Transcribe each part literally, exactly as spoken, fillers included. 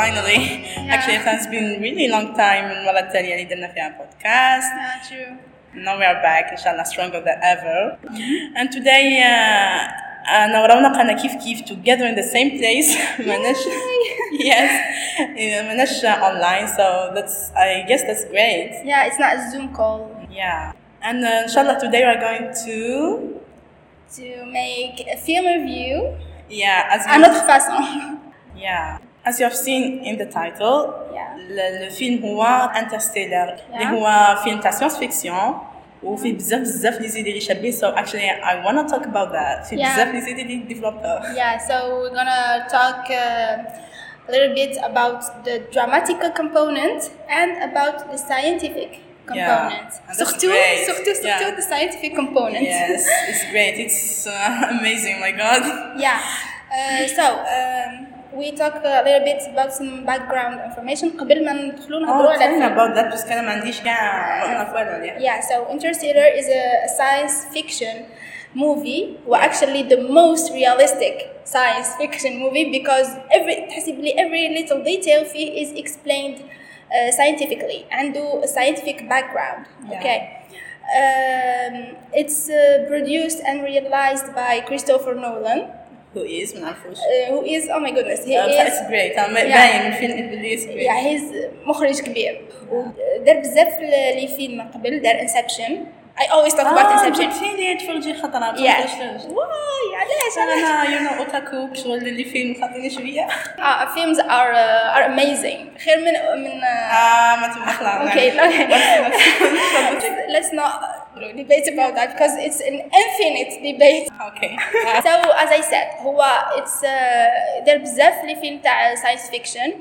finally. Yeah. Actually, it has been really long time من المرة التالية اللي درنا فيها podcast. Yeah, true. Now we are back, inshallah, stronger than ever. Mm-hmm. And today, أنا ورونق أنا كيف كيف together in the same place. مناش, yes, مناش online, so that's I guess that's great. Yeah, it's not a Zoom call. Yeah, and uh, inshallah today we are going to to make a film review. Yeah, as à notre façon. Yeah, as you have seen in the title, yeah. le, le film هو Interstellar, اللي هو فيلم تاع science fiction وفي بزاف بزاف لي زيد اللي شابين. So actually I want to talk about that. في بزاف لي زيد اللي ديفلوبر. Yeah, so we're gonna talk uh, a little bit about the dramatical component and about the scientific component. Yeah, surtout, surtout, surtout yeah. the scientific component. Yes, it's great. It's uh, amazing. My God. Yeah. Uh, so um, we talk a little bit about some background information. قبل ما ندخلوا نهضروا على. Oh, about that because أنا ما عنديش كاع نعرف عليه. Yeah. So Interstellar is a science fiction movie. Well, actually the most realistic science fiction movie because every تحسبلي every little detail فيه is explained. Uh, scientifically and do a scientific background. Yeah. Okay, um, it's uh, produced and realized by Christopher Nolan. Who is منعرفوش. Uh, who is oh my goodness he uh, is. It's great. I'm باين من فيلم إبليس. Yeah, he's مخرج كبير. ودار بزاف لي فيلم قبل دار Inception. I always talk about Inception. Ah, فيني تفرجي خطرة. Yeah. واي علاش أنا you know أوتاكو شغل اللي فيلم خاطيني شوية. Ah, films are uh, are amazing. خير من من. آه ما تبغى. Okay, let's not debate about that because it's an infinite debate. Okay. So as I said, هو it's uh, there بزاف لي فيلم تاع science fiction.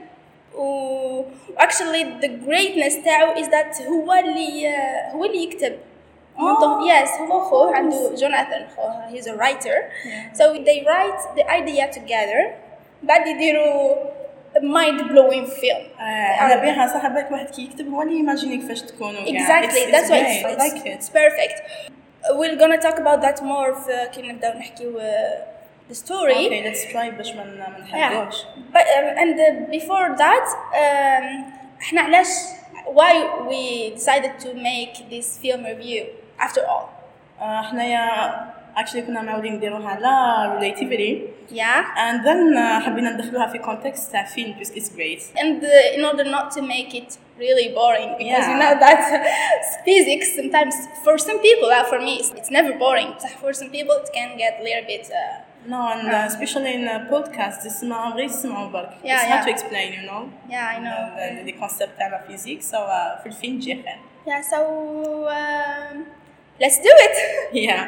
و actually the greatness تاعو is that هو اللي uh, هو اللي يكتب. Oh. Yes, هو خوه عنده جوناثان خوه he's a writer. Yeah. So they write the idea together. بعد يديروا mind blowing film. أنا بيها صاحبك واحد كي يكتب هو اللي يماجيني كيفاش تكونوا. Exactly, it's, that's why it's, I like it. It's perfect. We're gonna talk about that more في كي نبداو نحكيو the story. Okay, let's try باش ما ما نحرقوش. But um, and uh, before that, um, إحنا علاش why we decided to make this film review after all. إحنا يا actually كنا معودين نديروها على relativity. Yeah. And then uh, حبينا ندخلوها في context تاع فيلم because it's great. And uh, in order not to make it really boring because yeah. you know that physics sometimes for some people, uh, for me it's, it's never boring. For some people it can get a little bit. Uh, no, and uh, especially in a podcast, يسمعوا غير يسمعوا برك. Yeah, it's yeah. hard to explain, you know. Yeah, I know. The, the, the concept تاع physics, so uh, في الفيلم جي خير. Yeah, so um, let's do it. Yeah.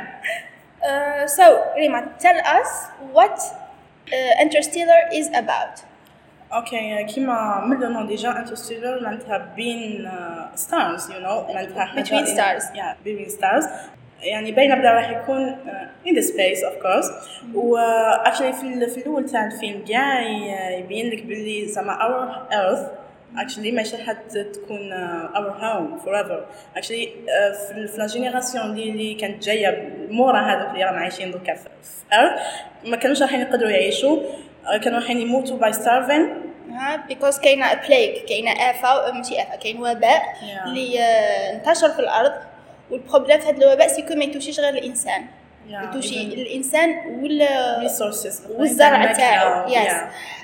Uh, so Rima, tell us what uh, Interstellar is about. Okay, كيما من لو نون ديجا Interstellar معناتها بين uh, stars, you know, معناتها between stars. Yeah, between stars. يعني باينه بدا راح يكون uh, in the space of course. و uh, actually في في الاول تاع الفيلم كاع يبين لك باللي زعما our earth actually ماشي راح تكون uh, our home forever. actually uh, في في لا جينيراسيون اللي اللي كانت جايه مورا هذوك اللي راهم عايشين دوكا في earth ما كانوش راح يقدروا يعيشوا. uh, كانوا راح يموتوا by starving. ها because كاينه plague كاينه آفة ماشي آفة كاين وباء اللي yeah. انتشر في الأرض. والبروبليم في هذا الوباء سيكون ما يتوشيش غير الانسان yeah, يتوشي الانسان وال resources والزرع تاعو يس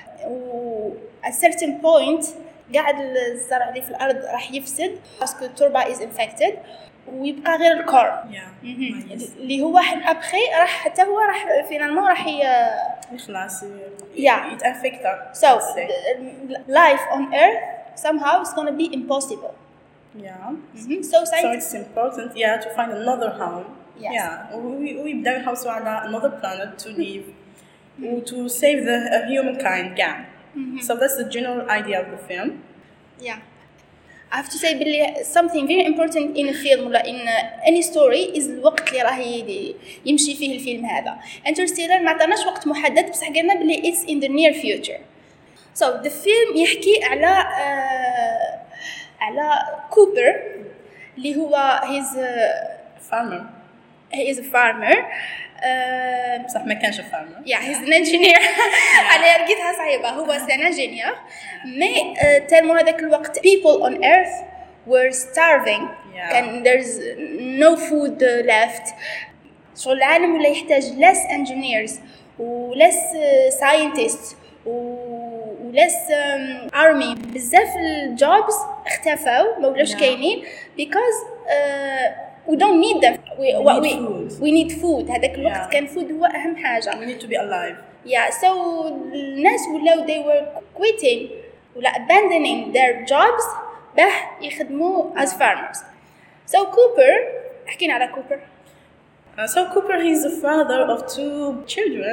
و at certain point قاعد الزرع اللي في الارض راح يفسد باسكو التربه is infected ويبقى غير الكور yeah. اللي هو واحد ابخي راح حتى هو راح فينالمون راح يخلص yeah. يتانفكتا. So life on earth somehow is going to be impossible. Yeah. Mm-hmm. So, so it's important, yeah, to find another home. Yes. Yeah. We we بداو يحوسوا على another planet to live, mm-hmm. to save the uh, humankind. Yeah. Mm-hmm. So that's the general idea of the film. Yeah. I have to say باللي something very important in a film ولا in any story is الوقت اللي راه يمشي فيه الفيلم هذا. Interstellar ما عطاناش وقت محدد بصح قلنا باللي it's in the near future. So the film يحكي على uh, على كوبر اللي هو هيز farmer he is a farmer. uh, صح ما كانش فاهمة. yeah he's an engineer. أنا لقيتها صعيبة. هو an engineer. مي تلمو هذاك الوقت people on earth were starving. Yeah. and there's no food left. شغل العالم ولا يحتاج less engineers و less scientists و less um, army. بزاف الجوبز اختفوا ما ولاش كاينين because uh, we don't need them. we, we, what need we, food. we need food. هذاك الوقت Yeah. كان food هو أهم حاجة. We need to be alive. yeah so الناس ولاو they were quitting ولا abandoning their jobs باه يخدموا as farmers. so Cooper حكينا على Cooper. Uh, so Cooper, he's the father of two children.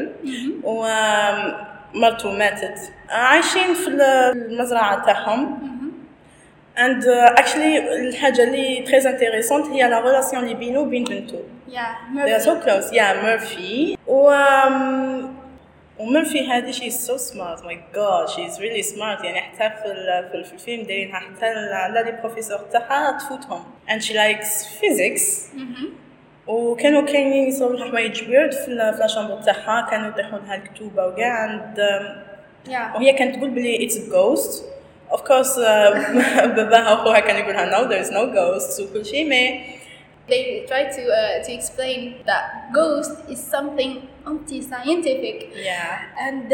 ومرته ماتت. uh, عايشين في المزرعة تاعهم. and uh, actually الحاجة اللي très intéressante هي la relation اللي بينه وبين بنته. yeah they are so close. yeah Murphy. و um, وميرفي هذه she's so smart. my god she's really smart. يعني حتى في في الفيلم دايرينها حتى لا لي بروفيسور تاعها تفوتهم. and she likes physics. وكانوا كاينين يصوروا لها حوايج ويرد في لا شامبر تاعها. كانوا يطيحوا لها الكتوبه وكاع. and um, yeah وهي كانت تقول بلي it's a ghost. of course uh, باباها وخوها كان يقولها no there is no ghosts وكل شيء. ما they try to uh, to explain that ghost is something anti-scientific. yeah and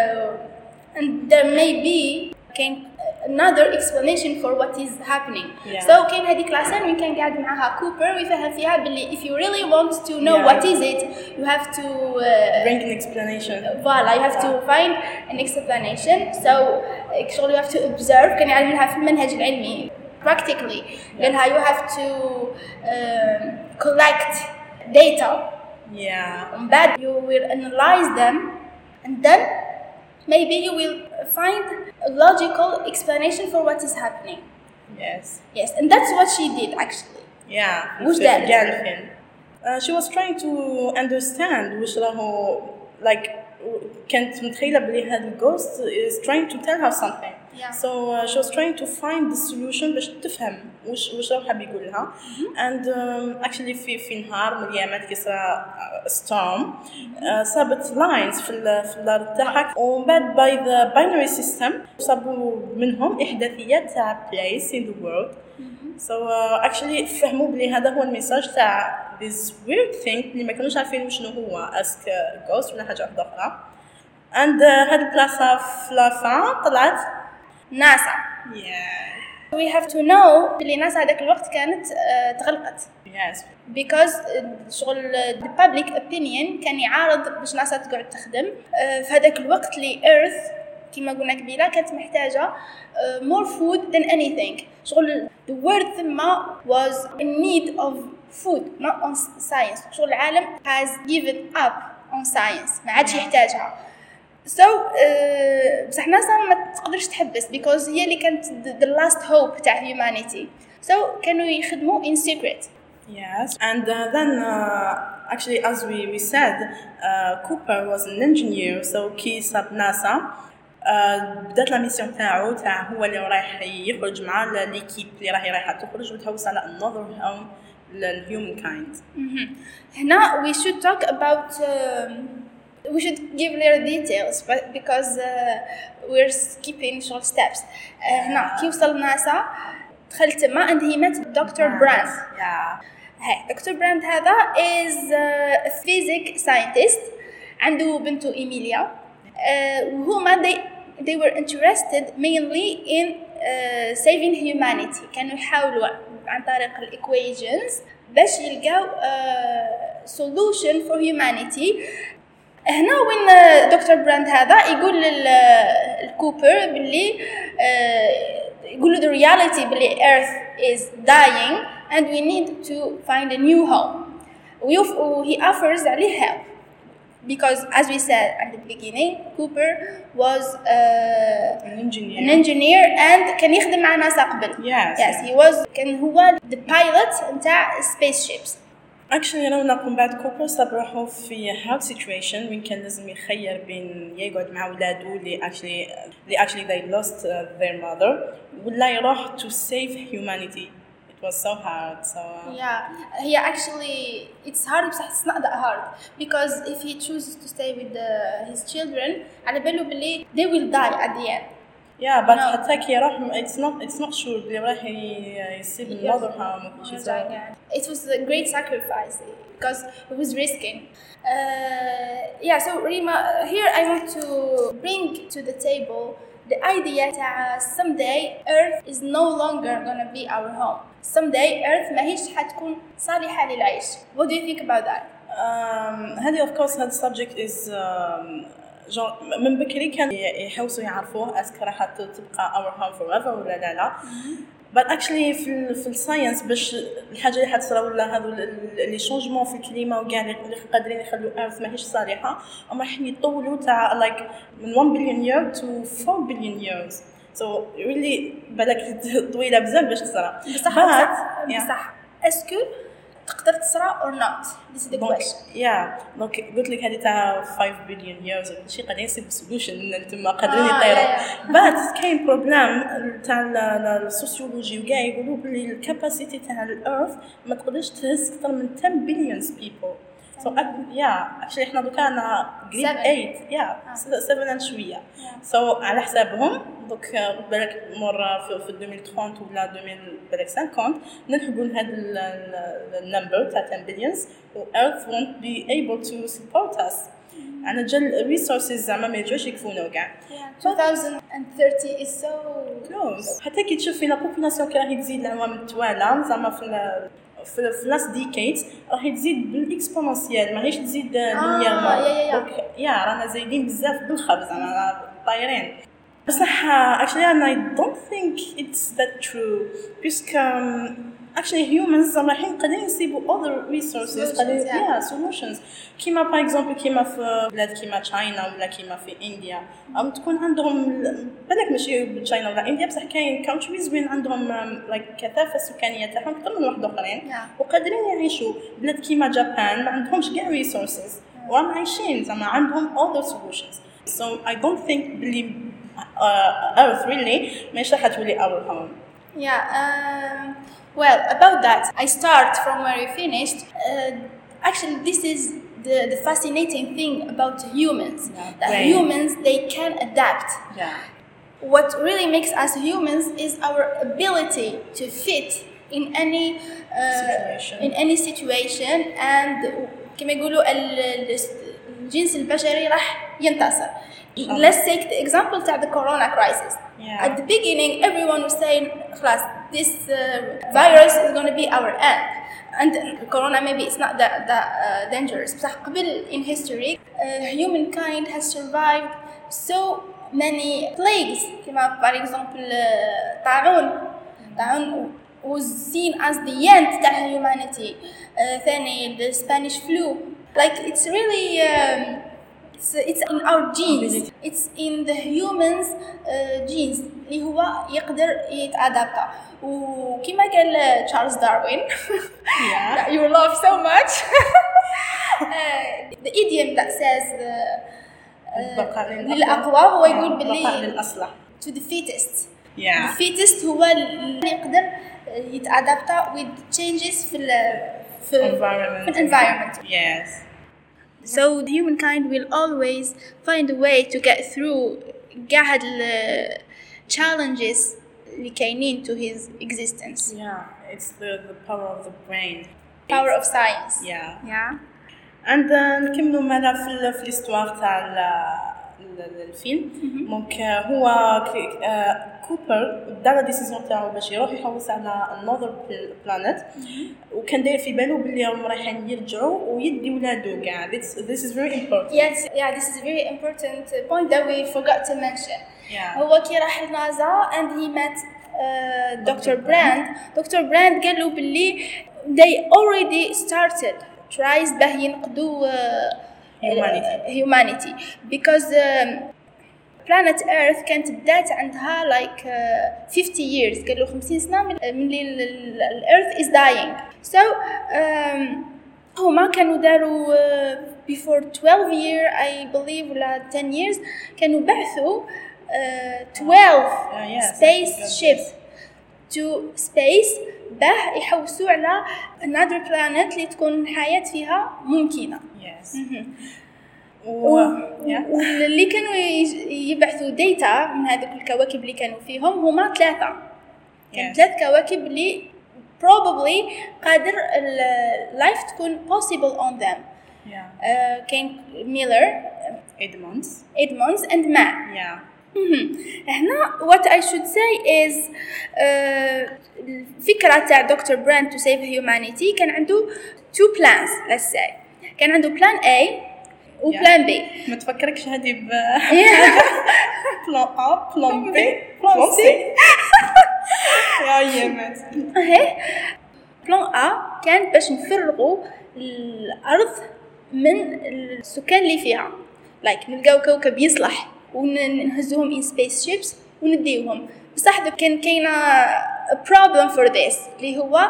uh, and there may be can another explanation for what is happening. Yeah. so كاين هذيك لاسين وين كان قاعد معها كوبر ويفهم فيها باللي if you really want to know Yeah. what is it you have to uh, bring an explanation. voilà you have to find an explanation. so actually you have to observe. كان يعلمها في المنهج العلمي practically. قالها you have to um, collect data. yeah and that you will analyze them and then maybe you will find a logical explanation for what is happening. yes yes and that's what she did actually. yeah وش في دارت؟ كاع الفيلم. uh, she was trying to understand وش راهو like كانت متخيلة بلي هذا الجوست is trying to tell her something. Yeah. so uh, she was trying to find the solution باش تفهم وش وش راهو حاب يقول لها. and um, actually في في نهار من الأيامات كي صرا storm uh, صابت lines في ال في الأرض تاعها. ومن بعد by the binary system صابوا منهم إحداثيات تاع place in the world. so uh, actually فهموا بلي هذا هو الميساج تاع this weird thing اللي ما كانوش عارفين شنو هو اسك ghost ولا حاجة أخرى. and uh, هاد البلاصة في لافان طلعت ناسا. yeah we have to know بلي ناسا هذاك الوقت كانت uh, تغلقت yes because uh, شغل the public opinion كان يعارض باش ناسا تقعد تخدم. uh, في هذاك الوقت اللي earth كما قلنا قبيله كانت محتاجة uh, more food than anything. شغل the world ثم was in need of food not on science. شغل العالم has given up on science ما عادش يحتاجها. so uh, بصح ناسا ما تقدرش تحبس because هي اللي كانت the, the last hope تاع humanity. so كانوا يخدموا in secret. yes and uh, then uh, actually as we we said uh, Cooper was an engineer. so كي صاب ناسا بدات لا ميسيون تاعو تاع هو اللي رايح يخرج مع ليكيب اللي راهي رايحه تخرج وتهوس على another home للhuman kind. هنا we should talk about um, we should give little details but because uh, we're skipping short steps. uh, هنا كي وصل ناسا دخل تما and he met دكتور براند. yeah هاي دكتور براند هذا is uh, a physics scientist. عنده بنته إيميليا. uh, وهما they they were interested mainly in uh, saving humanity. كانوا يحاولوا عن طريق الايكويشنز باش يلقاو uh, solution for humanity. هنا وين دكتور براند هذا يقول للكوبر باللي uh, يقول له the reality باللي Earth is dying and we need to find a new home. he offers عليه help because as we said at the beginning Cooper was uh, an engineer an engineer and كان يخدم مع ناسا قبل. yes yes he was كان هو the pilot نتاع spaceships. actually أنا نقوم بعد كوبر صاب روحو في hard situation وين كان لازم يخير بين يقعد مع ولادو اللي actually اللي actually they lost uh, their mother ولا يروح to save humanity. it was so hard. So uh, Yeah, he actually it's hard but it's not that hard because if he chooses to stay with the, his children على باله بلي they will die at the end. yeah, but No. حتى كي راح it's not it's not sure بلي راح ي- يسيب النظرها وكل شيء. It was a great sacrifice because it was risking. Uh, yeah, so Rima, here I want to bring to the table the idea that someday Earth is no longer gonna be our home. Someday Earth ماهيش حتكون صالحة للعيش. What do you think about that? Um, هذه of course هذا subject is um, genre من بكري كان يحوسوا يعرفوه اسكو راح تبقى our home forever ولا لا لا. but actually في ال في الساينس باش الحاجه اللي حتصرا ولا هذو اللي شونجمون في الكليمه وكاع اللي قادرين يخلوا ايرث ماهيش صالحه هم راح يطولوا تاع like من one billion year to four billion years. so really بالك طويله بزاف باش تصرا. بصح بصح اسكو تقدر تصرا or not? This is the question. yeah دونك قلت لك هذه تاع five billion years وكل شيء قادرين يصيب سولوشن ان انتم قادرين آه يطيروا. yeah, yeah. but كاين بروبليم تاع السوسيولوجي وكاع يقولوا بلي الكاباسيتي تاع الارث ما تقدرش تهز اكثر من ten billion people. so yeah actually احنا دوكا انا grade eight yeah seven and شويه. so على حسابهم دوك بالك مور في twenty thirty ولا twenty fifty نلحقوا لهذا النمبر تاع ten billions و earth won't be able to support us. انا جال resources زعما ما يجوش يكفونا وكاع. twenty thirty is so close. حتى كي تشوف في لا population كي راهي تزيد العوام التوالى زعما في في في لاست ديكيدز راح تزيد بالاكسبونونسيال ماهيش تزيد لينيرمون. دونك يا رانا زايدين بزاف بالخبز رانا طايرين. بصح actually I don't think it's that true because um, actually humans رايحين قادرين يسيبوا other resources قادرين yeah solutions كيما par exemple كيما في بلاد كيما تشاينا ولا كيما في انديا ام تكون عندهم بالك ماشي تشاينا ولا انديا بصح كاين countries وين عندهم like كثافه سكانيه تاعهم اكثر من واحد اخرين وقادرين يعيشوا. بلاد كيما جابان ما عندهمش كاع resources وراهم عايشين زعما عندهم other solutions. so I don't think بلي uh, earth really ماشي راح تولي our home. yeah um, well about that I start from where you finished. uh, actually this is the, the fascinating thing about humans. Yeah, that right. humans they can adapt. yeah What really makes us humans is our ability to fit in any uh, situation. in any situation and كما يقولوا الجنس البشري راح ينتصر. Let's take the example of the corona crisis. Yeah. At the beginning, everyone was saying, "Class, this uh, virus is going to be our end." And corona maybe it's not that, that uh, dangerous. But قبل in history, uh, humankind has survived so many plagues. كما for example, uh, طاعون. طاعون was seen as the end to humanity. Uh, ثاني the Spanish flu. Like it's really. Um, It's, it's in our genes. It's in the humans uh, genes اللي هو يقدر يتأدابتا. وكما قال تشارلز داروين that you love so much uh, the idiom that says uh, للأقوى هو يقول باللي to the fittest. yeah. the fittest هو اللي يقدر يتأدابتا with changes في ال في environment. في environment. yes. So the humankind will always find a way to get through كاع هاد ال challenges اللي كاينين to his existence. yeah it's the the power of the brain. power of science. yeah yeah and then نكملوا معنا في في الاستوار تاع الفيلم. دونك هو كوبر دار ديسيزيون تاعو باش يروح يحوس على another planet وكان داير في بالو بلي راهم رايحين يرجعوا ويدي ولادو كاع. this this is very important. yes yeah this is a very important point that we forgot to mention. yeah. هو كي راح لنازا and he met uh, Doctor Brand. Doctor Brand قال له بلي they already started tries باه ينقذوا uh, humanity. humanity because um, planet Earth كانت بدات عندها like uh, fifty years. قالوا خمسين سنة من اللي ال Earth is dying. so um, هما كانوا داروا uh, before twelve year I believe ولا ten years كانوا بعثوا uh, twelve uh, yes, space ships to space باه يحوسوا على another planet اللي تكون الحياة فيها ممكنة. yes و... واللي كانوا يبعثوا ديتا من هذوك الكواكب اللي كانوا فيهم هما ثلاثة. كان yes. ثلاث كواكب اللي probably قادر اللايف تكون possible on them. yeah. uh, كان ميلر إدموندز إدموندز and مان. yeah. هنا what I should say is uh, الفكرة تاع دكتور براند to save humanity كان عنده two plans let's say. كان عنده plan A و plan B. ما تفكركش هذه ب plan A plan B plan C يا يمت. اهي plan A كان باش نفرغوا الأرض من السكان اللي فيها like نلقاو كوكب يصلح ونهزوهم in spaceships ونديوهم. بصح كان كاينه problem for this اللي هو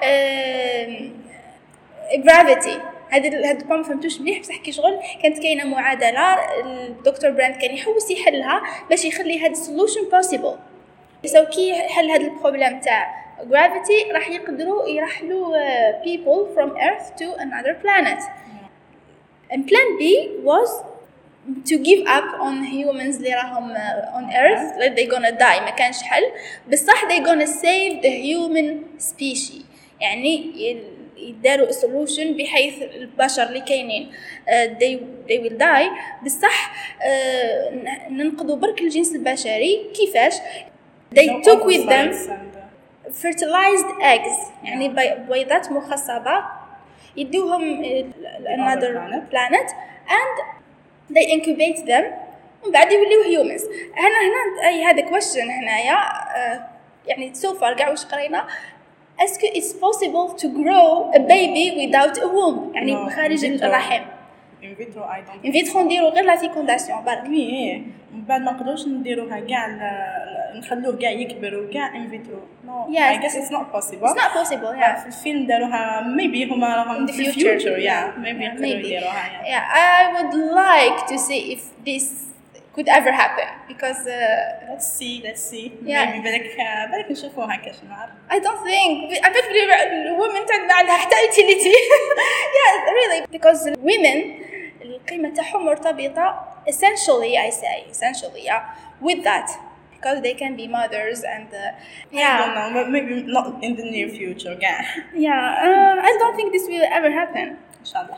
gravity. هذا هذا ما فهمتوش مليح بصح كي شغل كانت كاينه معادله الدكتور براند كان يحوس يحلها باش يخلي هذا solution possible. سو كي حل هذا البروبليم تاع gravity راح يقدروا يرحلوا people from earth to another planet. and plan B was to give up on humans اللي راهم on earth that they gonna die. ما كانش حل بصح they gonna save the human species. يعني يداروا solution بحيث البشر اللي كاينين uh, they they will die بصح uh, ننقذوا برك الجنس البشري. كيفاش؟ they no took with them fertilized eggs يعني بيضات مخصبة يدوهم another planet and they incubate them ومن بعد يوليو humans. هنا هنا أي هذا question هنايا uh, يعني so far قاع وش قرينا est-ce que it's possible to grow a baby without a womb يعني no, بخارج الرحم. in vitro I don't in vitro نديرو غير لا فيكونداسيون برك. وي من بعد ما نقدروش نديروها كاع نخلوه كاع يكبروا كاع in vitro no yes. I guess it's not possible it's not possible yeah. في الفيلم داروها maybe هما راهم في future yeah maybe يقدروا يديروها yeah. yeah I would like to see if this could ever happen because uh, let's see let's see yeah. maybe بالك بالك نشوفوها كاش نعرف. I don't think I bet women تاعنا عندها حتى utility yeah really because women القيمة تاعهم مرتبطة essentially I say essentially yeah with that because they can be mothers and uh, yeah I don't know maybe not in the near future yeah yeah uh, I don't think this will ever happen inshallah.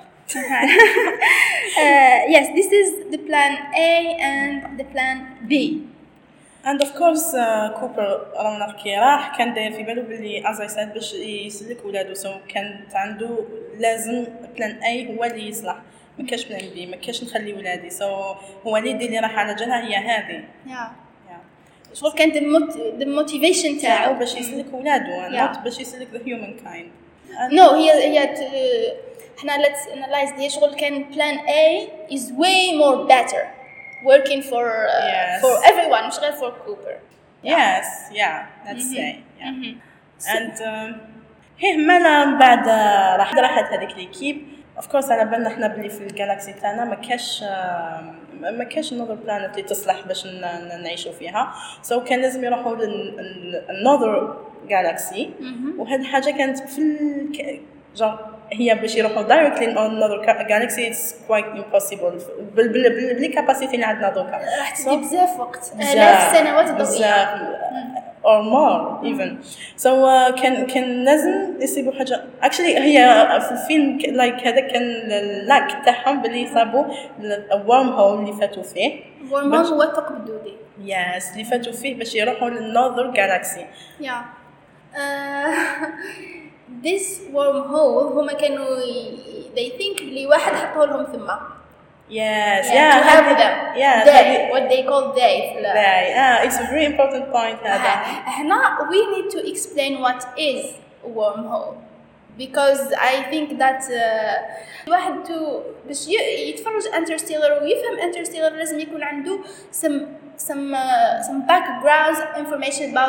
uh, yes this is the plan A and the plan B and of course كوبر رانا كي راح كان داير في باله باللي as I said باش يسلك ولادو سو كانت عنده لازم بلان A هو اللي يصلح ما كاش بلان بي ما كاش نخلي ولادي سو so, هو اليد اللي راح على جالها هي هذه yeah. yeah. شغل كانت the motivation تاعو باش يسلك ولادو not باش يسلك the human kind and no هي هي احنا let's analyze هي شغل كان plan A is way more better working for uh, yes. for everyone مش غير for Cooper yes yeah let's mm-hmm. say yeah mm-hmm. and هي مالا بعد راح راحت هذيك ليكيب of course على بالنا احنا بلي في الجالاكسي تاعنا ما كاش ما كاش another planet اللي تصلح باش نعيشوا فيها سو so كان لازم يروحوا another galaxy وهذه حاجه كانت في ال... هي باش يروحوا directly in another galaxy it's quite impossible بال بال بال capacity اللي عندنا دوكا راح تجي بزاف وقت آلاف سنوات ضوئية or more even so uh, كان كان لازم يصيبوا حاجه actually هي في الفيلم like هذا كان اللاك تاعهم باللي صابوا الورم هول اللي فاتوا فيه ورم هول هو الثقب الدودي yes اللي فاتوا فيه باش يروحوا للنذر جالاكسي yeah uh, this wormhole هما كانوا they think بلي واحد حطوا لهم ثم yes yeah, yeah to have them yeah they what they call they they yeah it's a very important point هذا احنا we need to explain what is a wormhole because I think that uh, واحد تو باش يتفرج Interstellar ويفهم Interstellar لازم يكون عنده some some uh, some background information about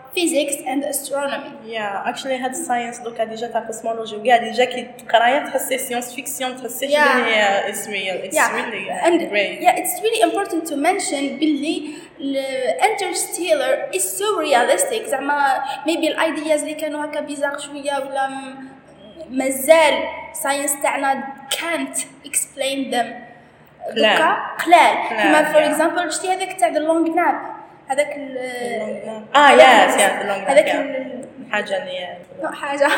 physics and astronomy. Yeah, actually had science دوكا ديجا تاع cosmology وكاع ديجا كي تقرايا تحسي science fiction تحسي Yeah. بلي it's real it's Yeah. really uh, And great. yeah, it's really important to mention باللي ال- Interstellar is so realistic. زعما maybe الايدياز اللي كانوا هكا بيزار شويه ولا م- مازال ساينس تاعنا can't explain them قلال. دوكا قلال. كيما قلال، فور yeah. اكزامبل شتي هذاك تاع ذا لونج ناب هذاك ال- اه هذاك يس ال- يس long هذاك yeah. ال- حاجه اللي نوع حاجه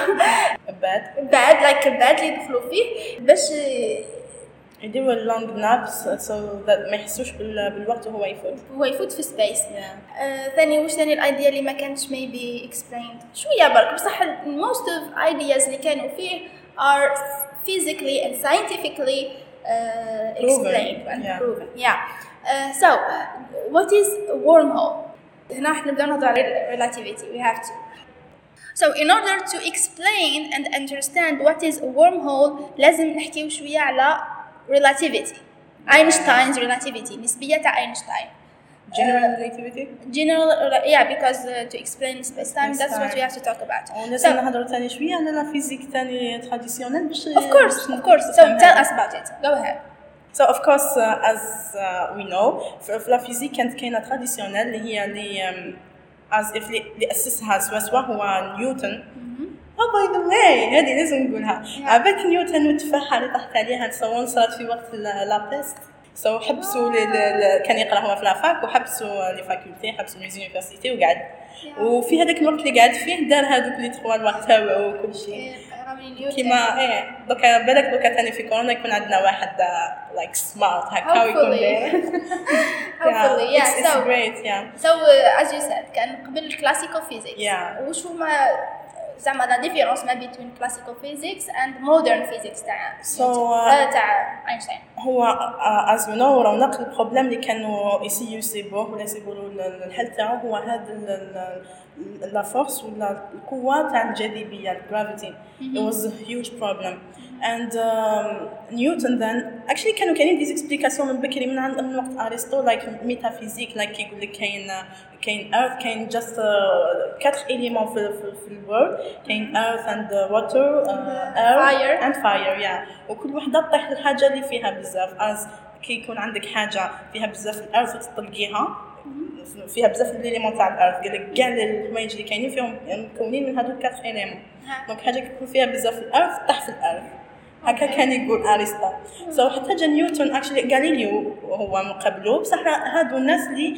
bad بعد لايك البعد اللي يدخلوا فيه باش يديروا اللونج نابس so that ما يحسوش بال- بالوقت وهو يفوت. هو يفوت في سبيس. Yeah. آه، ثاني واش ثاني الايديا اللي ما كانتش maybe explained شويه برك بصح ال- most of ideas اللي كانوا فيه are physically and scientifically uh, explained and yeah. proven. Yeah. Uh, so what is wormhole? هنا راح نبدا نهضر على relativity. We have to. So in order to explain and understand what is a wormhole لازم نحكيو شويه على relativity. Einstein's relativity نسبية تاع أينشتاين. General relativity. General, yeah, because uh, to explain space time, that's what Space-time. we have to talk about. ونسي نهضروا ثاني شويه على لا فيزيك ثاني تراديسيونيل باش Of course, of course. So tell us about it. Go ahead. So of course uh, as uh, we know في في لا فيزيك كانت كاينه تراديسيونيل اللي هي اللي um, as if اللي اللي اسسها سوا سوا هو نيوتن. Oh by the way هذه لازم نقولها. عباك نيوتن والتفاحه اللي طاحت عليها تصور صارت في وقت لا بيست. سو so, حبسوا لي ل... كان يقرا هو في لافاك وحبسوا لي فاكولتي حبسوا لي زونيفرسيتي وقعد yeah. وفي هذاك الوقت اللي قعد فيه دار هذوك لي تخوا الوقت تاعو وكل شيء كيما ايه دوكا بالك دوكا ثاني في كورونا يكون عندنا واحد لايك سمارت هكا ويكون داير hopefully yeah, it's, so it's great yeah so uh, as you said كان قبل الكلاسيكال فيزيكس yeah. وش هما زعما لا ديفيرونس ما بين كلاسيكال فيزيكس اند مودرن فيزيكس تاع so, uh, تاع اينشتاين هو as you know رونق البروبليم اللي كانوا يسيو يصيبوه ولا يصيبوا الحل تاعو هو هذا لا فورس ولا القوه تاع الجاذبيه الجرافيتي it was a huge problem and um, Newton then actually كانوا كاينين ديز اكسبليكاسيون من بكري من عند من وقت ارسطو لايك ميتافيزيك لايك كيقول لك كاين كاين earth كاين just quatre éléments في في الورد كاين earth and water uh, air fire and fire yeah وكل وحده تطيح الحاجه اللي فيها بزاف as كي يكون عندك حاجه فيها بزاف الارض تطلقيها فيها بزاف الاليمون تاع الارض قال لك كاع الحوايج اللي كاينين فيهم مكونين من هذوك كاتر اليمون دونك حاجه كيكون فيها بزاف الارض تطيح في الارض هكا كان يقول ارسطو سو so, حتى جا نيوتن اكشلي غاليليو هو مقابلو بصح هادو الناس اللي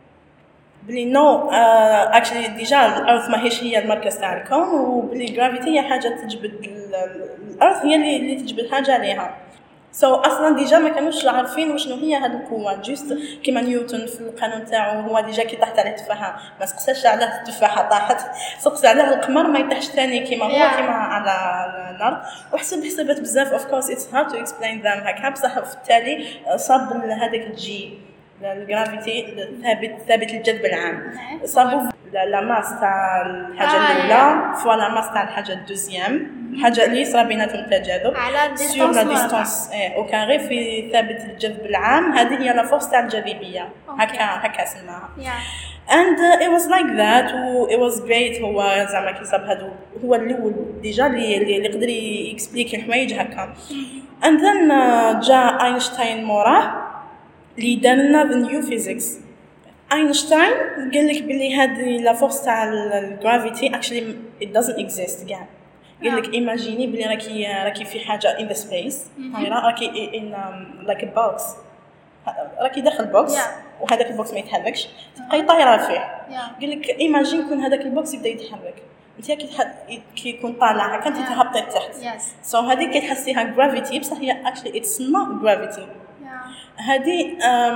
بلي نو اكشلي ديجا الارض ماهيش هي المركز تاع الكون وبلي جرافيتي هي حاجه تجبد الارض هي اللي, اللي تجبد حاجه عليها سو so, اصلا ديجا ما كانوش عارفين وشنو هي هذه القوه جوست كيما نيوتن في القانون تاعو هو ديجا كي طاحت عليه التفاحه ما سقساش على التفاحه طاحت سقس على القمر ما يطيحش ثاني كيما هو yeah. كيما على الارض وحسب حسابات بزاف اوف كورس اتس هارد تو اكسبلين ذم هكا بصح في التالي صاب هذاك الجي الجرافيتي ثابت ثابت الجذب العام صابوا لا ماس تاع الحاجه الاولى فوا لا ماس تاع الحاجه الدوزيام الحاجه اللي صرا بيناتهم التجاذب على سور لا ديستانس او كاري في ثابت الجذب العام هذه هي لا فورس تاع الجاذبيه هكا هكا سماها and uh, it was like that و it was great هو زعما كي صاب هادو هو الاول ديجا اللي اللي يقدر يكسبليكي الحوايج هكا and then uh, جا اينشتاين موراه اللي دار لنا the new physics اينشتاين قال لك بلي هذه لا فورس تاع الجرافيتي actually it doesn't exist كاع قال لك ايماجيني بلي راكي راكي في حاجه in the space راكي in um, like a box راكي داخل بوكس yeah. وهذاك البوكس ما يتحركش تبقاي طايره فيه yeah. قال لك ايماجين كون هذاك البوكس يبدا يتحرك انت كي كي يكون طالع هكا انت تهبطي لتحت سو so, هذيك كتحسيها جرافيتي بصح هي actually it's not gravity هذه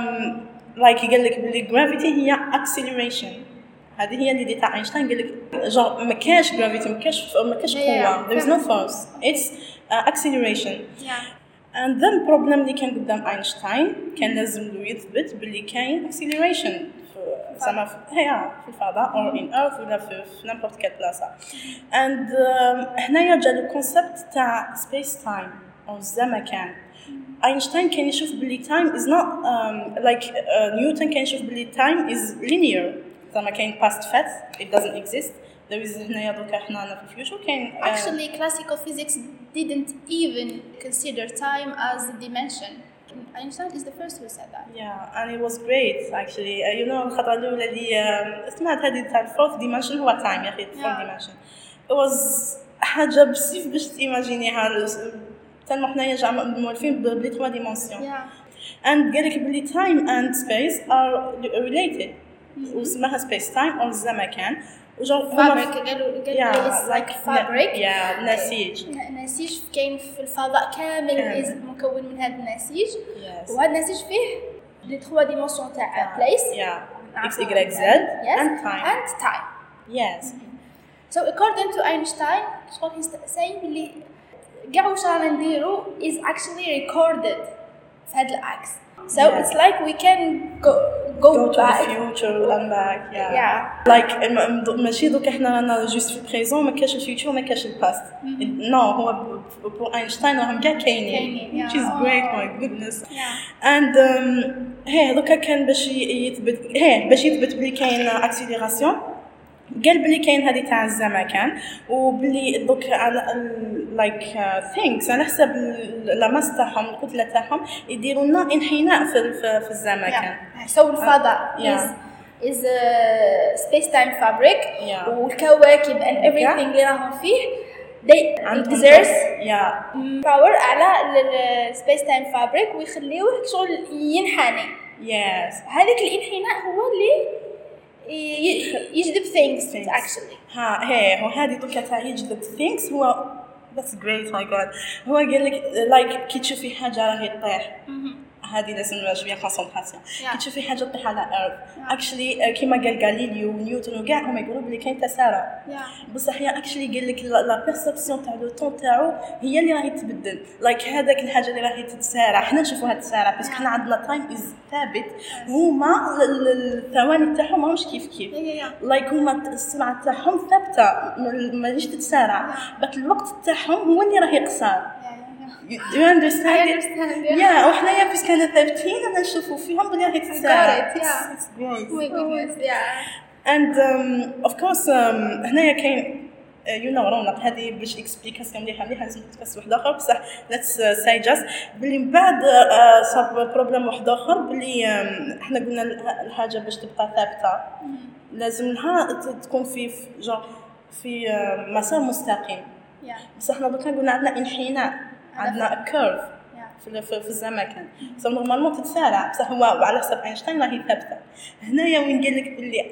لايك قال لك بلي جرافيتي هي acceleration هذه هي اللي تاع اينشتاين قال لك جون ما كاش جرافيتي ما كاش ما كاش قوه there is no force it's uh, acceleration yeah. and then problem اللي كان قدام اينشتاين كان لازم له يثبت بلي كاين acceleration زعما هي في الفضاء or in earth ولا في n'importe quelle بلاصه and um, هنايا جا الكونسيبت تاع space time او الزمكان اينشتاين كان يشوف بلي time is not um, like uh, نيوتن كان يشوف بلي time is linear زعما كاين past fact it doesn't exist. there is هنايا دوكا حنا في future كاين uh, actually classical physics didn't even consider time as a dimension. Einstein is the first who said that. Yeah, and it was great actually. Uh, you know الخطرة الأولى اللي uh, سمعت هذه تاع fourth dimension هو time يا أخي fourth dimension. It was حاجة بسيف باش تيماجينيها تلمح حنايا جا مولفين بلي trois dimensions. Yeah. And قالك بلي time and space are related. وسماها space time أو الزمكان. fabric قالوا قالوا is like fabric. Yeah, نسيج. نسيج كاين في الفضاء كامل is مكون من هذا النسيج. Yes. وهذا النسيج فيه لي trois dimensions تاع place. Yeah. X, Y, Z yes. and time. And time. Yes. So according to Einstein, شغل he's saying بلي كاع واش رانا نديرو is actually recorded في هذا العكس. So yeah. It's like we can go go, go to back. the future and back. Yeah. Yeah. Like ماشي دوك احنا رانا جوست في البريزون ما كاش الفيوتشر ما كاش الباست. No هو بو اينشتاين راهم كاع كاينين. Which is great, my goodness. Yeah. And um, هي دوكا كان باش يثبت هي باش يثبت بلي كاين اكسيليراسيون. قال بلي كاين هذه تاع الزمكان وبلي دوك على لايك ثينكس على حسب الماس تاعهم الكتله تاعهم يديروا لنا انحناء في في الزمكان. سو الفضاء is is a space time fabric. Yeah. والكواكب and everything اللي راهم فيه they exert yeah. power على ال space time fabric ويخليوه شغل ينحني. Yes. هذاك الانحناء هو اللي يجذب things, things actually. ها هي هو هذه دوكا تاع يجذب things هو that's great my god. هو قال لك like كي تشوفي حاجه راهي تطيح هذه لازم شويه كونسونطراسيون. كي تشوفي حاجه تطيح على الارض اكشلي كيما قال غاليليو ونيوتن وكاع هما يقولوا بلي كاين تسارع بصح هي اكشلي قال لك لا بيرسبسيون تاع لو طون تاعو هي اللي راهي تبدل لايك هذاك الحاجه اللي راهي تتسارع حنا نشوفوها تتسارع بس حنا عندنا تايم از ثابت هما الثواني تاعهم ماهمش كيف كيف لايك هما السرعه تاعهم ثابته ماهيش تتسارع بس الوقت تاعهم هو اللي راهي قصار. Do you understand? I understand. Yeah. Yeah. وحنايا بس كنا ثابتين أنا نشوفوا فيهم بلي راهي تتسارع. It's, yeah. it's great. Oh my goodness. Yeah. And um, of course um, هنايا كاين you know رونق هذه باش إكسبليكاسيون مليحة مليحة لازم تفسر واحد آخر بصح let's uh, say just بلي من بعد uh, صاب بروبلم واحد آخر بلي um, إحنا قلنا الحاجة باش تبقى ثابتة لازمها تكون في جو في uh, مسار مستقيم. Yeah. بس إحنا دوكا قلنا عندنا انحناء. عندنا كيرف في في الزمكان سو نورمالمون تتسارع بصح هو على حسب اينشتاين راهي ثابته. هنايا وين قال لك بلي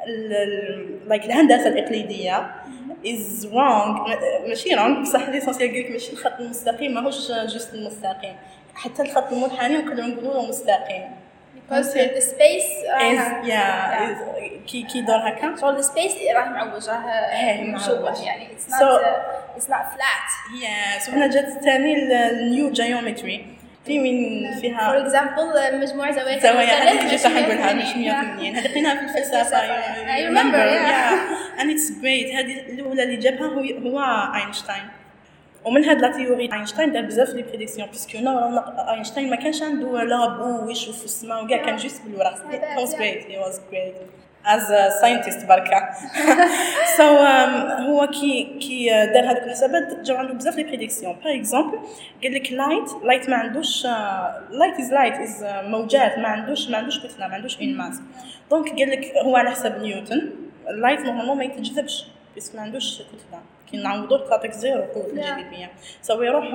لايك الهندسه الاقليديه از رونغ ماشي رونغ بصح ليسونسيال قال لك ماشي الخط المستقيم ماهوش جوست المستقيم حتى الخط المنحني نقدروا نقولوا له مستقيم because the space is uh, yeah, yeah. كي كي دور هكا so the space راه معوج راه مشوش يعني it's not so, uh, it's not flat. yeah so هنا جات ثاني النيو جيومتري في من فيها for example مجموع زوايا زوايا هذه جيت نقولها مش مية بالمية هذه قلناها في الفلسفه I remember yeah. yeah and it's great هذه الاولى اللي جابها هو هو اينشتاين ومن هاد لا تيوري اينشتاين دار بزاف لي بريديكسيون باسكو نو اينشتاين ما كانش عنده لا بو ويشوف السماء وكاع كان جوست بالورق he was great he was great as a scientist بركه so um, هو كي كي دار هذوك الحسابات جاو عنده بزاف لي بريديكسيون باغ اكزومبل قال لك لايت لايت ما عندوش لايت از لايت از موجات ما عندوش ما عندوش كتله ما عندوش اون ماس دونك قال لك هو على حسب نيوتن اللايت نورمالمون ما يتجذبش بس ما عندوش كتله كي نعوضوه تعطيك زيرو قوة الجاذبية سو يروح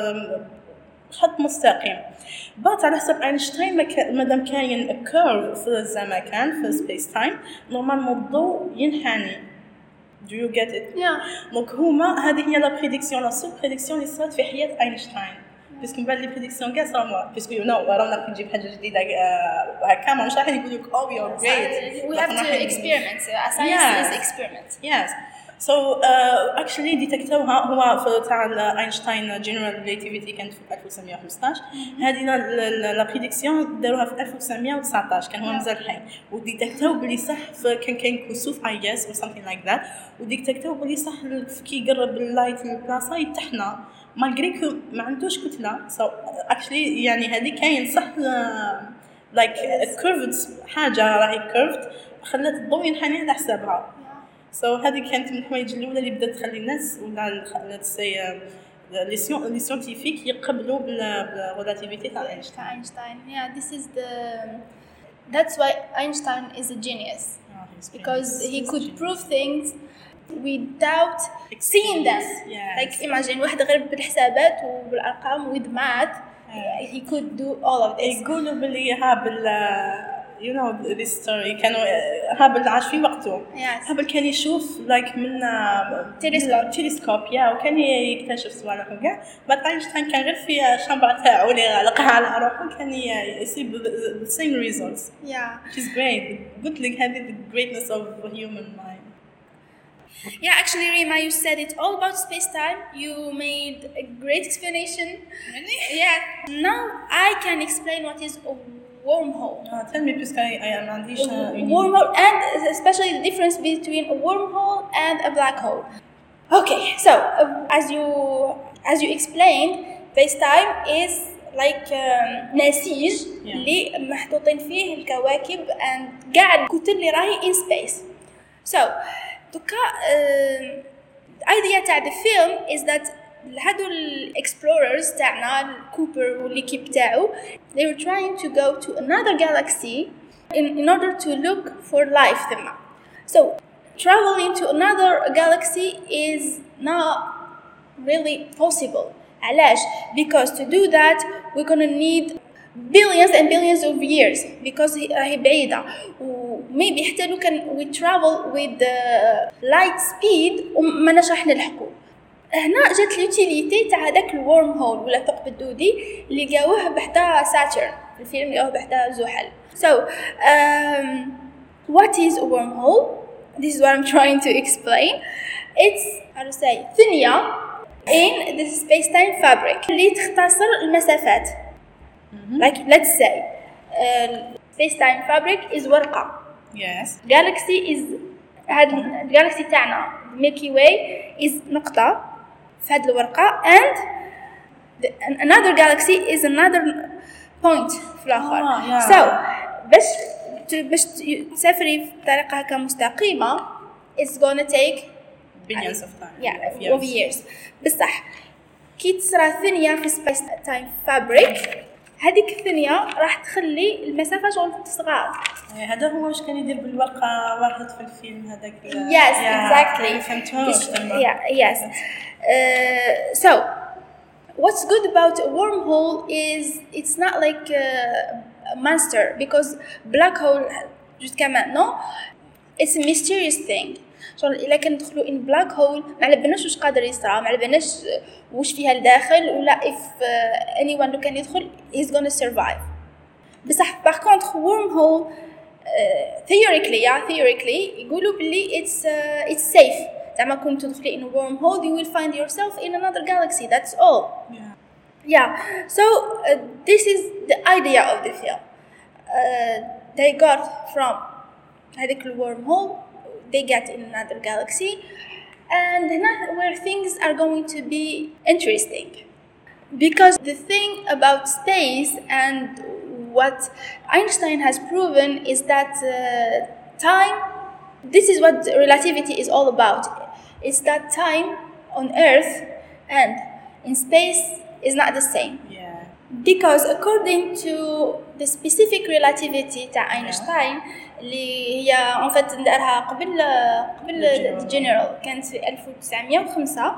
بخط مستقيم بات على حسب اينشتاين مادام كاين كيرف في الزمكان في سبيس تايم نورمالمون الضوء ينحني do you get it yeah. دونك هما هذه هي لا بريديكسيون لا سول بريديكسيون اللي صارت في حياة اينشتاين باسكو من بعد لي بريديكسيون كاع صاروا باسكو يو نو رانا كي نجيب حاجه جديده هكا ماش راح يقول لك او يو جريت we have to experiment a science is experiment yes so uh, actually ديتكتوها هو في تاع اينشتاين جنرال ريلاتيفيتي كانت في ألف وتسعمية وخمسطاش هذه لا بريديكسيون داروها في ألف وتسعمية وتسعطاش كان هو مازال حي وديتكتو بلي صح كان كاين كسوف اي جاس or something like that وديتكتو بلي صح كي يقرب اللايت للبلاصه يتحنى مالغري كو ما عندوش كتله so actually يعني هذه كاين صح لايك كيرفد حاجه راهي كيرفد خلت الضوء ينحني على حسابها. سو so, هذه كانت من الحوايج الاولى اللي بدات تخلي الناس ولا نتسي لي سيون لي سيونتيفيك يقبلوا بالريلاتيفيتي تاع اينشتاين. Einstein, yeah, this is the that's why Einstein is a genius, oh, because he could prove things without seeing them. Yes. Like imagine واحد غير بالحسابات وبالارقام with math, yeah. He could do all of this. يقولوا بلي هابل you know this story كانوا هابل عاش في وقته. yes. هابل كان يشوف like من تلسكوب تلسكوب يا وكان يكتشف صوالح وكاع. بعد اينشتاين كان غير في الشامبر تاعو اللي غلقها على روحه كان يصيب the same results. yeah, which is great. قلت لك هذه the greatness of the human mind. Yeah, actually, Rima, you said it all about space-time. You made a great explanation. Really? Yeah. Now I can explain what is a wormhole. Uh, tell me, because I, I am not a wormhole, and especially the difference between a wormhole and a black hole. Okay, so uh, as you as you explained, space-time is like um, نسيج اللي محطوطين فيه الكواكب and قاعد الكتل اللي راهي in space. So دوكا الايديا تاع the film is that هادو الاكسبلوررز تاعنا كوبر والليكيب تاعو they were trying to go to another galaxy in, in order to look for life ثما. So traveling to another galaxy is not really possible. علاش؟ Because to do that we're gonna need billions and billions of years because هي بعيدة و maybe حتى لو كان we travel with the light speed وما نشرح نلحقو. هنا جات اليوتيليتي تاع هذاك الورم هول ولا ثقب الدودي اللي لقاوه بحدا ساترن في الفيلم لقاوه بحدا زحل. So um, what is a wormhole? This is what I'm trying to explain. It's how to say ثنية in the space-time fabric اللي تختصر المسافات. Mm-hmm. Like let's say uh, space-time fabric is ورقة. Yes. Galaxy is هاد الجالكسي تاعنا Milky Way is نقطة في هاد الورقة and the, another galaxy is another point في الآخر. oh, yeah. So باش باش تسافري بطريقة هكا مستقيمة it's gonna take billions of time. Yeah, of years. بصح كي تصرى ثنية في space time fabric هذيك الثنية راح تخلي المسافة شغل تصغر. هذا هو واش كان يدير بالورقة واحد في الفيلم هذاك. Yes, exactly. فهمتوش تما. Yeah, yes. Uh, so what's good about a wormhole is it's not like a monster because black hole jusqu'à maintenant it's a mysterious thing. شغل إلا كندخلوا in black hole ما على بالناش واش قادر يصرى ما على بالناش واش فيها الداخل ولا if uh, anyone لو كان يدخل he's gonna survive. بصح par contre wormhole uh, theoretically yeah theoretically يقولوا بلي it's uh, it's safe. زعما كنت تدخلي in a wormhole you will find yourself in another galaxy. That's all. Yeah. Yeah. So uh, this is the idea of the film. Uh, they got from هذيك الwormhole they get in another galaxy and where things are going to be interesting because the thing about space and what Einstein has proven is that uh, time this is what relativity is all about. It's that time on Earth and in space is not the same. Yeah. Because according to the specific relativity تاع Einstein اللي هي en fait دارها قبل قبل الجنرال كانت في ألف وتسعمية وخمسة.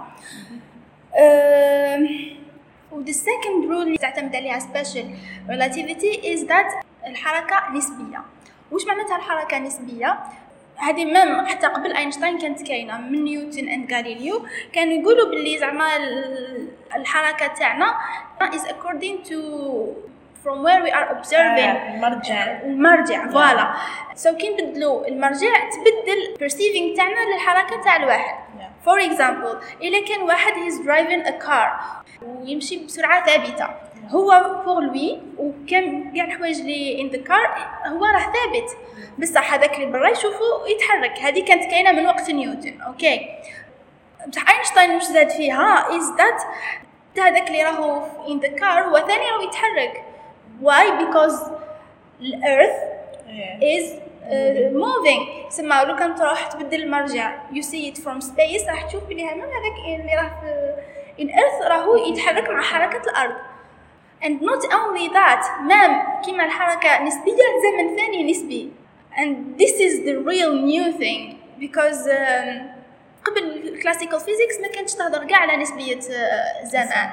و the second rule اللي تعتمد عليها special relativity is that الحركة نسبية. وش معناتها الحركة نسبية؟ هذه مام حتى قبل اينشتاين كانت كاينه من نيوتن اند غاليليو كانوا يقولوا باللي زعما الحركه تاعنا is according to from where we are observing المرجع المرجع فوالا سو كي نبدلوا المرجع تبدل perceiving تاعنا للحركه تاع الواحد. for example الا كان واحد is driving a car ويمشي بسرعه ثابته هو فوق لوي وكان كاع الحوايج اللي in the car هو راه ثابت بصح هذاك اللي برا يشوفه يتحرك. هذه كانت كاينه من وقت نيوتن. اوكي بصح اينشتاين واش زاد فيها is that هذاك اللي راهو in the car هو ثاني راهو يتحرك. why? because the earth is موفينغ سما لو كان تروح تبدل المرجع you see it from space راح تشوف بلي هذا هذاك اللي راه في in earth راهو يتحرك مع حركة الأرض. and not only that مام كيما الحركة نسبية زمن ثاني نسبي and this is the real new thing because um, قبل classical physics ما كانتش تهضر كاع على نسبية uh, زمان.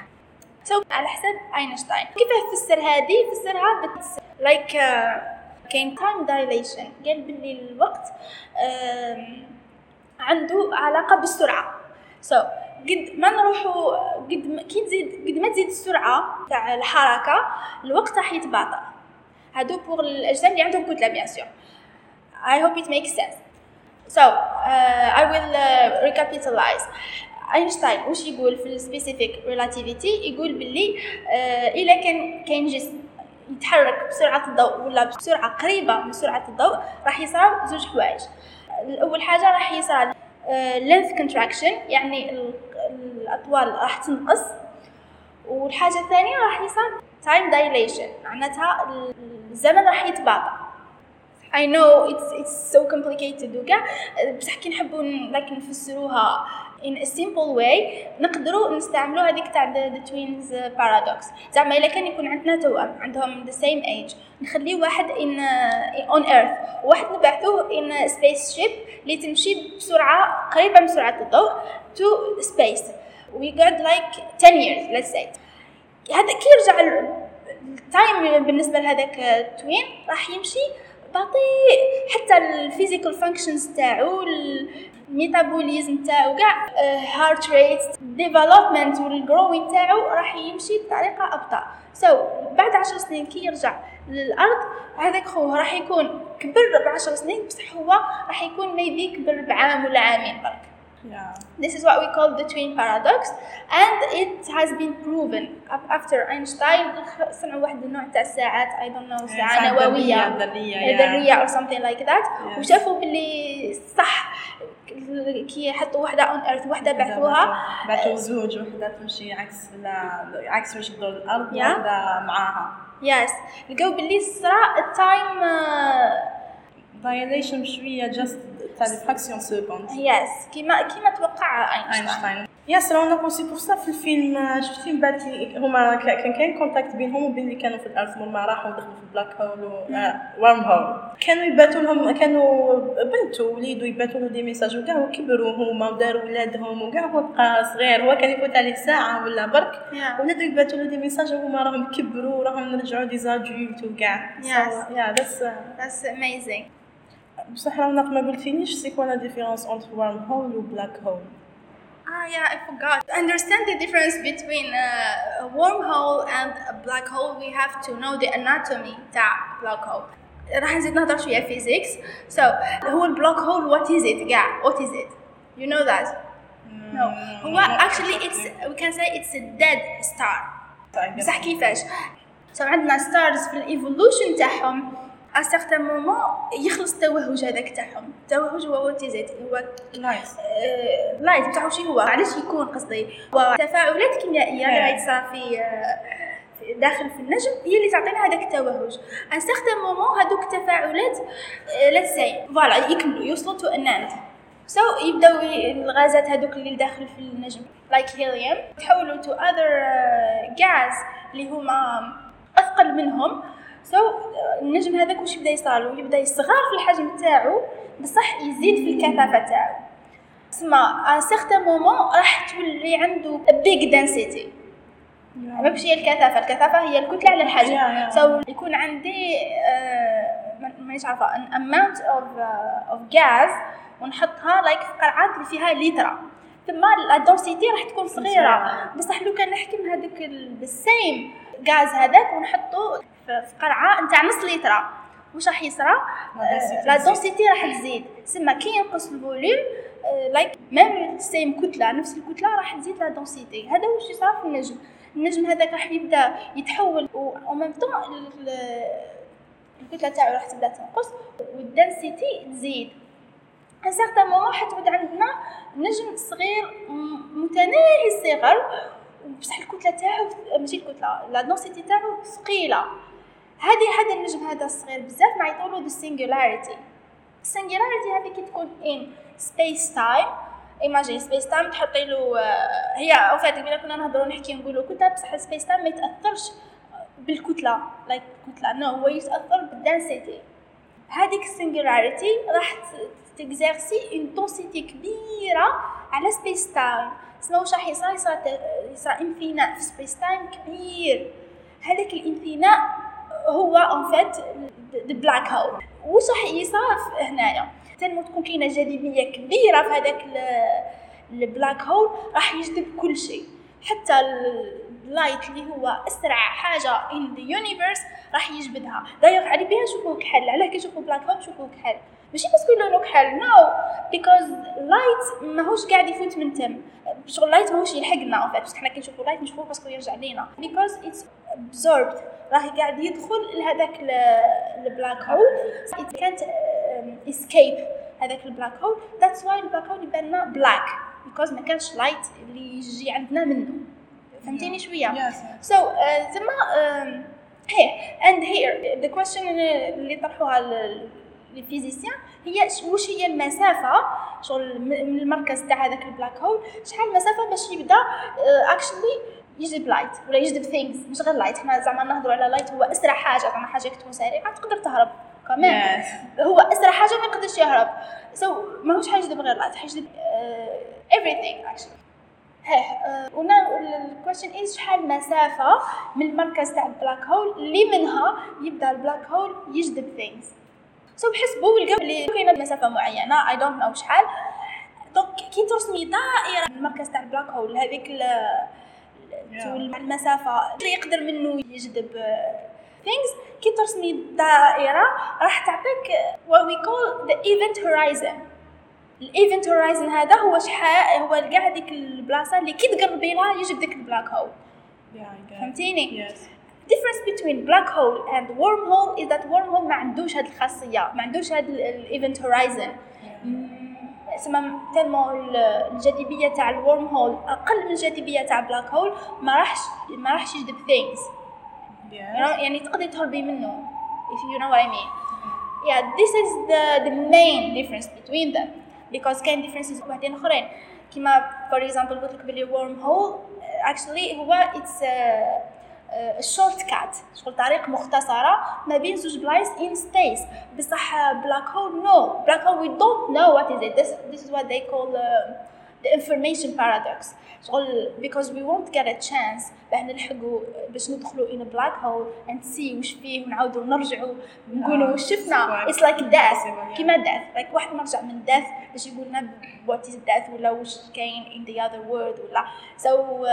so على حسب أينشتاين كيف فسر هذه فسرها بت like uh, كاين time dilation قال باللي الوقت uh, عنده علاقة بالسرعة. so قد ما نروحوا قد ما كي تزيد قد ما تزيد السرعة تاع الحركة الوقت راح يتباطأ. هادو بور الأجسام اللي عندهم كتلة bien sûr. I hope it makes sense. so uh, I will uh, recapitalize. أينشتاين وش يقول في السبيسيفيك relativity يقول باللي uh, إذا كان كاين جسم يتحرك بسرعة الضوء ولا بسرعة قريبة من سرعة الضوء راح يصير زوج حوايج. أول حاجة راح يصير uh, length contraction يعني الأطوال راح تنقص والحاجة الثانية راح يصير time dilation معناتها الزمن راح يتباطأ. I know it's it's so complicated وكاع بصح كي نحبوا لكن نفسروها in a simple way نقدروا نستعملوا هذيك تاع the twins paradox. زعما إلا كان يكون عندنا توأم عندهم the same age نخليه واحد in on earth وواحد نبعثوه in space ship اللي تمشي بسرعة قريبة من سرعة الضوء to space we got like ten years let's say. هذا كي يرجع التايم بالنسبة لهذاك توين راح يمشي بطيء حتى الفيزيكال فانكشنز تاعو الميتابوليزم تاعو كاع هارت ريت ديفلوبمنت والجروين تاعو راح يمشي بطريقه ابطا. سو so, بعد عشر سنين كي يرجع للارض هذاك خوه راح يكون كبر بعشر سنين بصح هو راح يكون ميبي كبر بعام ولا عامين برك. Yeah. This is what we call the twin paradox and it has been proven after Einstein صنعوا واحد النوع تاع الساعات I don't know ساعة نووية ذرية or something like that yes. وشافوا باللي صح كي حطوا واحدة on earth واحدة بعثوها بعثوا زوج واحدة تمشي عكس عكس واش تدور الأرض yeah. واحدة معاها yes لقوا باللي صرا التايم dilation بشوية just تاع fraction seconde yes كيما كيما توقع اينشتاين. يس رانا بونسي بور صا في الفيلم شفتي من بعد هما كان كاين كونتاكت بينهم وبين اللي كانوا في الارض هما راحوا دخلوا في البلاك هول وورم هول كانوا يباتوا لهم كانوا بنتو وليدوا يباتوا له دي ميساج وكاع وكبروا هما وداروا ولادهم وكاع هو بقى صغير هو كان يفوت عليه ساعه ولا برك yeah. ولادو يباتوا له دي ميساج وهما راهم كبروا وراهم رجعوا دي زادولت وكاع يا ذاتس ذاتس اميزينغ. بصح رانا ما قلتينيش سي كوا لا ديفيرونس انتر ورم هول و بلاك هول. Ah yeah, I forgot. To understand the difference between uh, a wormhole and a black hole, we have to know the anatomy تاع black hole. راح نزيد نهضر شوية physics. So, هو ال black hole, what is it? Yeah, what is it? You know that? Mm, no. هو actually it's we can say it's a dead star. بصح كيفاش؟ So عندنا stars في evolution تاعهم. à certain moment يخلص التوهج هذاك تاعهم. التوهج هو what is it؟ هو لايت. لايت تاعو شي هو؟ علاش يكون قصدي؟ هو تفاعلات كيميائية اللي غيتصرى في داخل في النجم هي اللي تعطينا هذاك التوهج. à certain moment هذوك التفاعلات let's say فوالا يكملوا يوصلوا to an end. so يبداو الغازات هذوك اللي داخل في النجم like helium يتحولوا to other gas اللي هما أثقل منهم. so النجم هذاك واش يبدا يصالو يبدا يصغر في الحجم تاعو بصح يزيد في الكثافه تاعو. تسمى à certain moment راح تولي عنده a big density. ماشي هي الكثافه الكثافه هي الكتله على الحجم. so يكون عندي uh, مانيش عارفه an amount of uh, of gas ونحطها like في قرعات اللي فيها لتر ثم لا density راح تكون صغيره بصح لو كان نحكم هذاك السيم غاز هذاك ونحطه في قرعه نتاع نص لتر واش راح يصرى لا دونسيتي راح تزيد. سما كي ينقص الفوليوم لايك ميم سيم كتله نفس الكتله راح تزيد لا دونسيتي. هذا واش يصرى في النجم. النجم هذاك راح يبدا يتحول و ميم طون الكتله تاعو راح تبدا تنقص والدنسيتي تزيد. ان سيغتان مومون حتعود عندنا نجم صغير متناهي الصغر بصح الكتله تاعو ماشي الكتله لا دونسيتي تاعو ثقيله هذه هذا النجم هذا الصغير بزاف ما يطولوا ذا singularity. singularity هذه كي تكون in space time. imagine space time تحطي له هي او فات قبل كنا نهضروا نحكي نقولوا كتله بصح space time ما يتاثرش بالكتله لايك like كتله نو no, هو يتاثر بالدنسيتي. هذيك singularity راح تكزيرسي انتونسيتي كبيره على space time. شنو واش راح يصير؟ يصير يصير انفيناء في space time كبير. هذاك الانفيناء هو ان فات the black hole. واش راح يصير هنايا؟ تنمو تكون كاينه جاذبيه كبيره في هذاك البلاك هول راح يجذب كل شيء حتى اللايت اللي هو اسرع حاجه in the universe راح يجبدها. دايوغ على بها نشوفوه كحل. علاه كنشوفوا بلاك هول نشوفوه كحل ماشي بس كلونه كحل نو because light ماهوش قاعد يفوت من تم. شغل لايت ماهوش يلحقنا ان فات بس حنا كنشوفوا لايت نشوفوه باسكو يرجع لينا because it's absorbed راح قاعد يدخل لهذاك البلاك هول it can't um, escape هذاك البلاك هول. that's why البلاك هول يبان لنا black because ما كانش لايت اللي يجي عندنا منه. فهمتيني شويه؟ yes. so uh, ثم um, here and here the question اللي طرحوها الفيزيسيان هي واش هي المسافه شغل من المركز تاع هذاك البلاك هول شحال المسافه باش يبدا اكشلي يجذب لايت ولا يجذب ثينجز مش غير لايت. حنا زعما نهضروا على لايت هو اسرع حاجه زعما حاجه تكون سريعه تقدر تهرب كمان yes. هو اسرع حاجه ما يقدرش يهرب سو so, ماهوش حيجذب غير لايت حيجذب uh, everything actually. ها ونا الكويشن از شحال المسافه من المركز تاع البلاك هول اللي منها يبدا البلاك هول يجذب ثينجز. سو so, بحسبوا ولقاو اللي كاينه مسافه معينه اي دونت نو شحال. دونك كي ترسمي دائره من المركز تاع البلاك هول هذيك المسافه اللي يقدر منه يجذب things كي ترسمي دائره راح تعطيك what we call the event horizon. الايفنت هورايزن هذا هو شحال هو كاع ديك البلاصه اللي كي تقربي لها يجي ديك البلاك هول. فهمتيني؟ yes. difference between black hole and wormhole is that wormhole ما عندوش هذه الخاصيه ما عندوش هذا الايفنت هورايزن. اسمها تلمو الجاذبيه تاع الورم هول اقل من الجاذبيه تاع بلاك هول ما راحش ما راحش يجذب things yes. يعني تقدري تهربي منه if you know what I mean. yeah this is the the main difference between them because كاين differences واحدين اخرين كيما for example قلت لك بلي worm hole actually هو it's a a short cut شغل طريق مختصرة ما بين زوج بلايص in space. بصح black hole no black hole we don't know what is it. this, this is what they call uh, the information paradox شغل because we won't get a chance باش نلحقوا باش ندخلوا in a black hole and see وش فيه ونعاودوا نرجعوا نقولوا وش شفنا. it's like death كيما death like واحد مرجع من death باش يقولنا what is death ولا وش كاين in the other world ولا so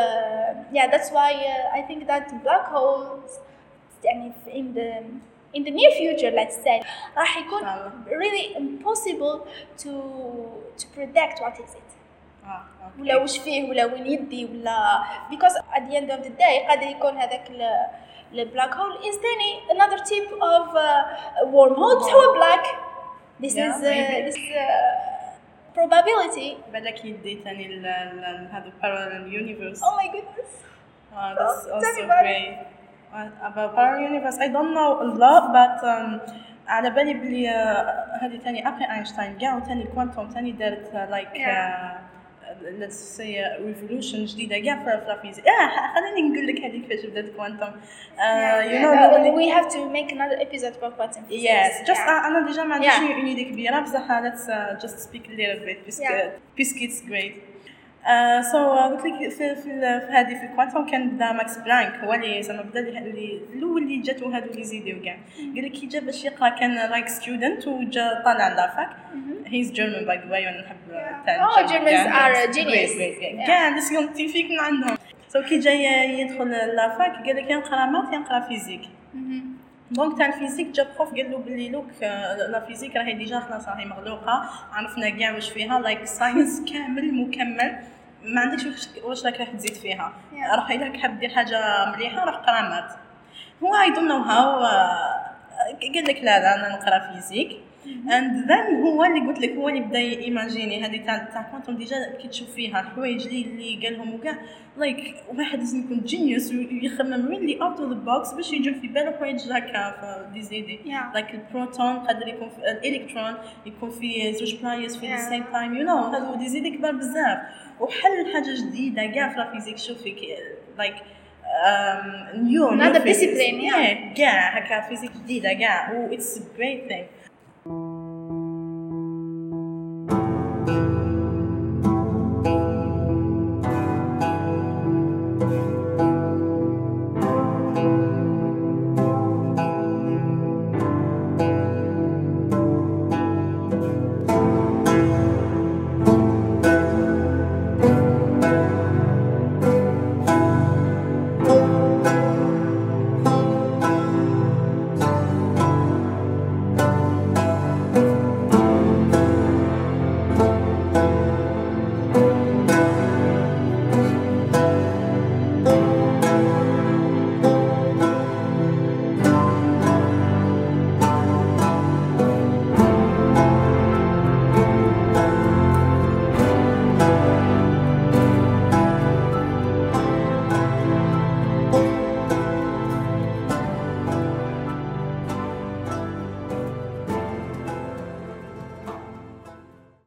uh, yeah that's why uh, I think that black holes يعني in the in the near future let's say راح يكون really impossible to to predict what is it ah, okay. ولا وش فيه ولا وين يدي ولا because at the end of the day قادر يكون هذاك البلاك هول is ثاني another type of uh, wormhole بس هو black. this yeah, is uh, this uh, probability بالك يدي ثاني هذا parallel universe. oh my goodness uh, that's oh, also great uh, about parallel universe I don't know a lot but um, على بالي بلي هذه ثاني أبي أينشتاين كاع وثاني كوانتوم ثاني دارت like uh, let's say revolution جديدة كاع في الفيزياء. آه خليني نقول لك هذه كيفاش بدات كوانتوم. you know we have to make another episode for quantum physics. yes just أنا ديجا ما عنديش une idée كبيرة بصح let's uh, just speak a little bit puisque puisque it's great. Uh, so قلت لك في في هذه في الكوانتوم كان بدا ماكس بلانك هو اللي زعما بدا اللي الاول اللي جاتو هادو اللي زيدوا كاع قال لك كي جا باش يقرا كان لايك ستودنت وجا طالع لافاك هيز جيرمان باي ذا واي وانا نحب تاع oh Germans are genius كاع لي سيونتيفيك من عندهم سو so, كي جا يدخل لافاك قال لك ينقرا مات ينقرا فيزيك دونك تاع الفيزيك جا بروف قال له بلي لوك لا فيزيك راهي ديجا خلاص راهي مغلوقه عرفنا كاع واش فيها لايك ساينس كامل مكمل ما عندكش واش راك راح تزيد فيها yeah. راح الا حاب دير حاجه مليحه راح قرا مات هو اي دون نو هاو قال لك لا لا انا نقرا فيزيك and then هو اللي قلت لك هو اللي بدا ايماجيني هذه تاع تاع كوانتم ديجا كي تشوف فيها الحوايج اللي اللي قالهم وكاع لايك واحد لازم يكون جينيوس ويخمم ريلي اوت اوف ذا بوكس باش يجي في باله حوايج هكا في دي زيدي لايك البروتون قادر يكون في الالكترون يكون في زوج بلايص في ذا سيم تايم يو نو هذو دي زيدي كبار بزاف وحل حاجه جديده كاع في الفيزيك شوفي لايك نيو another discipline كاع هكا فيزيك جديده كاع و اتس ا جريت ثينج